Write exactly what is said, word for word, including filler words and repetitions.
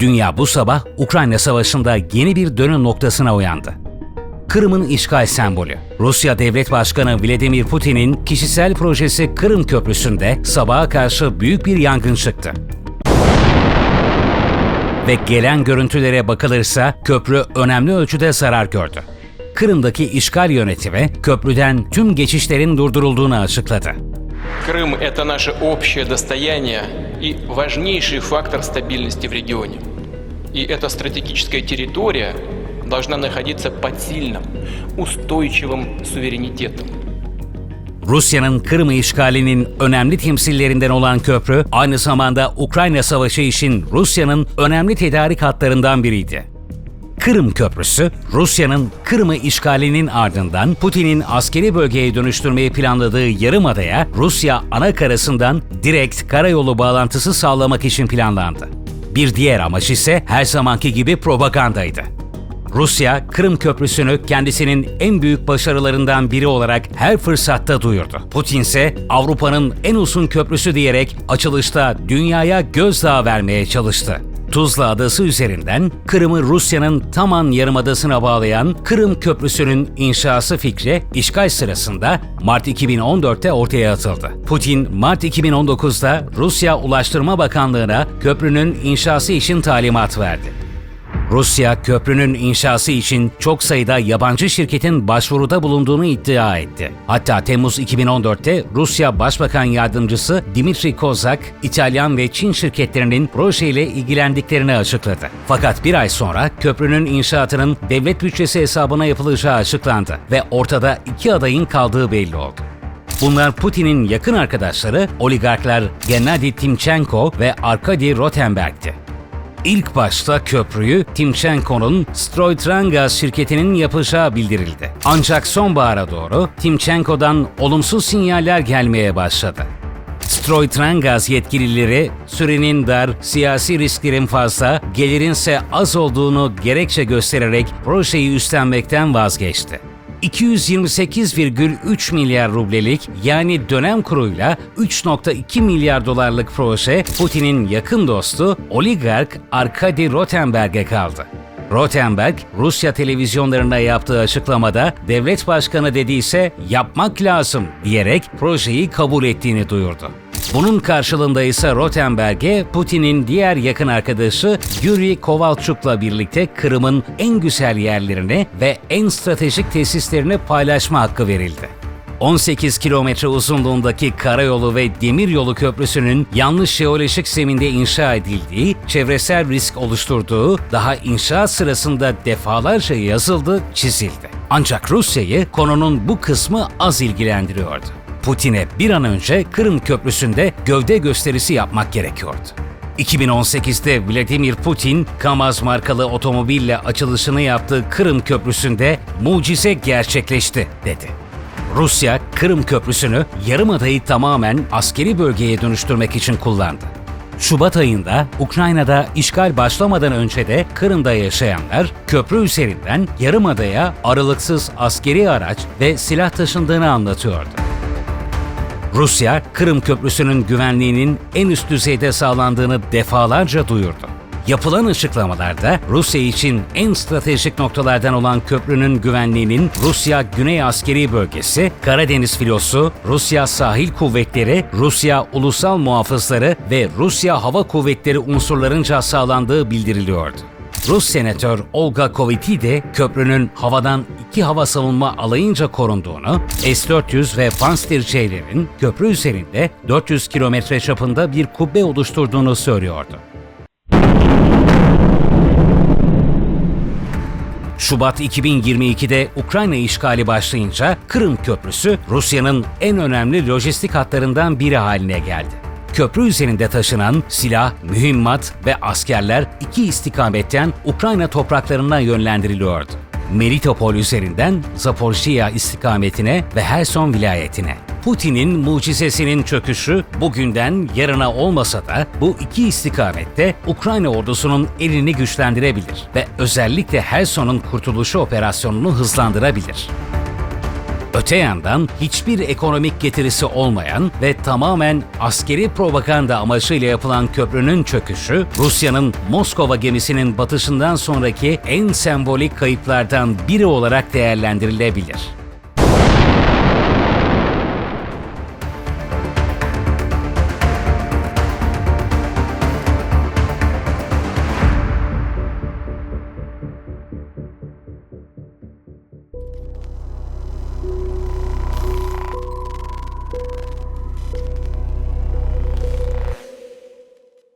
Dünya bu sabah Ukrayna Savaşı'nda yeni bir dönüm noktasına uyandı. Kırım'ın işgal sembolü. Rusya Devlet Başkanı Vladimir Putin'in kişisel projesi Kırım Köprüsü'nde sabaha karşı büyük bir yangın çıktı. Ve gelen görüntülere bakılırsa köprü önemli ölçüde zarar gördü. Kırım'daki işgal yönetimi köprüden tüm geçişlerin durdurulduğunu açıkladı. Крым – это наше общее достояние и важнейший фактор стабильности в регионе. И эта стратегическая территория должна находиться под сильным, устойчивым суверенитетом. Rusya'nın Kırım'ı işgalinin önemli temsillerinden olan köprü, aynı zamanda Ukrayna Savaşı için Rusya'nın önemli tedarik hatlarından biriydi. Kırım Köprüsü, Rusya'nın Kırım'ı işgalinin ardından Putin'in askeri bölgeye dönüştürmeyi planladığı yarımadaya Rusya anakarasından direkt karayolu bağlantısı sağlamak için planlandı. Bir diğer amaç ise her zamanki gibi propagandaydı. Rusya, Kırım Köprüsü'nü kendisinin en büyük başarılarından biri olarak her fırsatta duyurdu. Putin ise Avrupa'nın en uzun köprüsü diyerek açılışta dünyaya gözdağı vermeye çalıştı. Tuzla Adası üzerinden Kırım'ı Rusya'nın Taman Yarımadası'na bağlayan Kırım Köprüsü'nün inşası fikri işgal sırasında Mart iki bin on dörtte ortaya atıldı. Putin, Mart iki bin on dokuzda Rusya Ulaştırma Bakanlığı'na köprünün inşası için talimat verdi. Rusya, köprünün inşası için çok sayıda yabancı şirketin başvuruda bulunduğunu iddia etti. Hatta Temmuz iki bin on dörtte Rusya Başbakan Yardımcısı Dmitry Kozak, İtalyan ve Çin şirketlerinin projeyle ilgilendiklerini açıkladı. Fakat bir ay sonra köprünün inşaatının devlet bütçesi hesabına yapılacağı açıklandı ve ortada iki adayın kaldığı belli oldu. Bunlar Putin'in yakın arkadaşları oligarklar Gennady Timchenko ve Arkady Rotenberg'ti. İlk başta köprüyü Timchenko'nun Stroytrangas şirketinin yapacağı bildirildi. Ancak sonbahara doğru Timchenko'dan olumsuz sinyaller gelmeye başladı. Stroytrangas yetkilileri sürenin dar, siyasi risklerin fazla, gelirinse az olduğunu gerekçe göstererek projeyi üstlenmekten vazgeçti. iki yüz yirmi sekiz virgül üç milyar rublelik yani dönem kuruyla üç virgül iki milyar dolarlık proje Putin'in yakın dostu oligark Arkady Rotenberg'e kaldı. Rotenberg, Rusya televizyonlarına yaptığı açıklamada devlet başkanı dediyse yapmak lazım diyerek projeyi kabul ettiğini duyurdu. Bunun karşılığında ise Rotenberg'e Putin'in diğer yakın arkadaşı Yuri Kovalchuk'la birlikte Kırım'ın en güzel yerlerini ve en stratejik tesislerini paylaşma hakkı verildi. on sekiz kilometre uzunluğundaki karayolu ve demiryolu köprüsünün yanlış jeolojik zeminde inşa edildiği, çevresel risk oluşturduğu daha inşaat sırasında defalarca yazıldı, çizildi. Ancak Rusya'yı konunun bu kısmı az ilgilendiriyordu. Putin'e bir an önce Kırım Köprüsü'nde gövde gösterisi yapmak gerekiyordu. iki bin on sekizde Vladimir Putin, Kamaz markalı otomobille açılışını yaptığı Kırım Köprüsü'nde mucize gerçekleşti dedi. Rusya, Kırım Köprüsü'nü yarımadayı tamamen askeri bölgeye dönüştürmek için kullandı. Şubat ayında Ukrayna'da işgal başlamadan önce de Kırım'da yaşayanlar köprü üzerinden yarımadaya aralıksız askeri araç ve silah taşındığını anlatıyordu. Rusya, Kırım Köprüsü'nün güvenliğinin en üst düzeyde sağlandığını defalarca duyurdu. Yapılan açıklamalarda Rusya için en stratejik noktalardan olan köprünün güvenliğinin Rusya Güney Askeri Bölgesi, Karadeniz Filosu, Rusya Sahil Kuvvetleri, Rusya Ulusal Muhafızları ve Rusya Hava Kuvvetleri unsurlarınca sağlandığı bildiriliyordu. Rus senatör Olga Koviti de köprünün havadan iki hava savunma alayınca korunduğunu, S dört yüz ve Pantsir-C'lerin köprü üzerinde dört yüz kilometre çapında bir kubbe oluşturduğunu söylüyordu. Şubat iki bin yirmi ikide Ukrayna işgali başlayınca Kırım Köprüsü Rusya'nın en önemli lojistik hatlarından biri haline geldi. Köprü üzerinde taşınan silah, mühimmat ve askerler iki istikametten Ukrayna topraklarına yönlendiriliyordu. Melitopol üzerinden Zaporijya istikametine ve Herson vilayetine. Putin'in mucizesinin çöküşü bugünden yarına olmasa da bu iki istikamette Ukrayna ordusunun elini güçlendirebilir ve özellikle Herson'un kurtuluşu operasyonunu hızlandırabilir. Öte yandan hiçbir ekonomik getirisi olmayan ve tamamen askeri propaganda amacıyla yapılan köprünün çöküşü, Rusya'nın Moskova gemisinin batışından sonraki en sembolik kayıplardan biri olarak değerlendirilebilir.